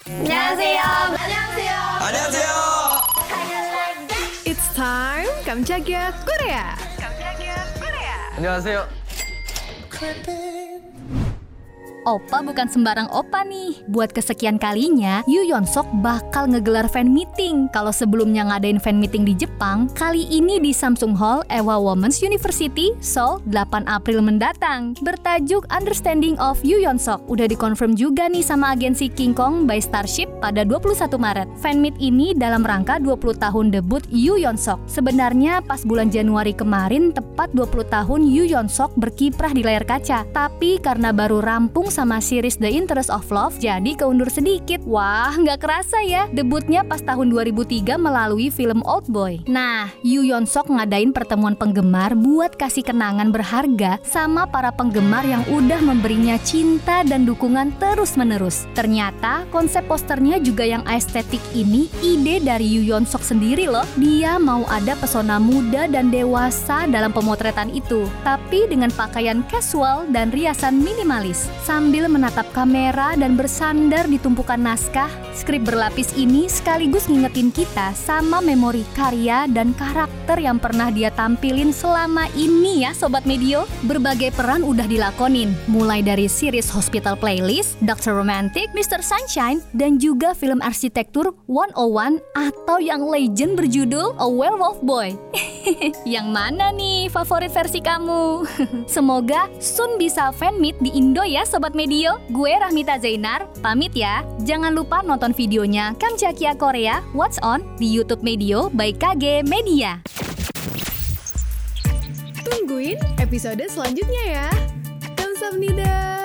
안녕하세요. 안녕하세요. 안녕하세요. It's time 깜짝이야 Korea. 안녕하세요. Oppa bukan sembarang oppa nih. Buat kesekian kalinya, Yoo Yeon Sok bakal ngegelar fan meeting. Kalau sebelumnya ngadain fan meeting di Jepang, kali ini di Samsung Hall, Ewha Women's University, Seoul, 8 April mendatang. Bertajuk Understanding of Yoo Yeon Sok. Udah dikonfirm juga nih sama agensi King Kong by Starship pada 21 Maret. Fan meet ini dalam rangka 20 tahun debut Yoo Yeon Sok. Sebenarnya pas bulan Januari kemarin, tepat 20 tahun Yoo Yeon Sok berkiprah di layar kaca. Tapi karena baru rampung sama series The Interest of Love, jadi keundur sedikit. Wah, nggak kerasa ya, debutnya pas tahun 2003 melalui film Old Boy. Nah, Yoo Yeon Sok ngadain pertemuan penggemar buat kasih kenangan berharga sama para penggemar yang udah memberinya cinta dan dukungan terus-menerus. Ternyata konsep posternya juga yang estetik ini ide dari Yoo Yeon Sok sendiri loh. Dia mau ada pesona muda dan dewasa dalam pemotretan itu, tapi dengan pakaian casual dan riasan minimalis. Sambil menatap kamera dan bersandar di tumpukan naskah, skrip berlapis ini sekaligus ngingetin kita sama memori karya dan karakter yang pernah dia tampilin selama ini ya Sobat Medio. Berbagai peran udah dilakonin, mulai dari series Hospital Playlist, Dr. Romantic, Mr. Sunshine, dan juga film arsitektur 101 atau yang legend berjudul A Werewolf Boy. Yang mana nih favorit versi kamu? Semoga soon bisa fan meet di Indo ya Sobat Medio. Gue Rahmita Zainar, pamit ya. Jangan lupa nonton videonya Kamjakia Korea What's On di YouTube Medio by KG Media. Tungguin episode selanjutnya ya. Kamsahamnida.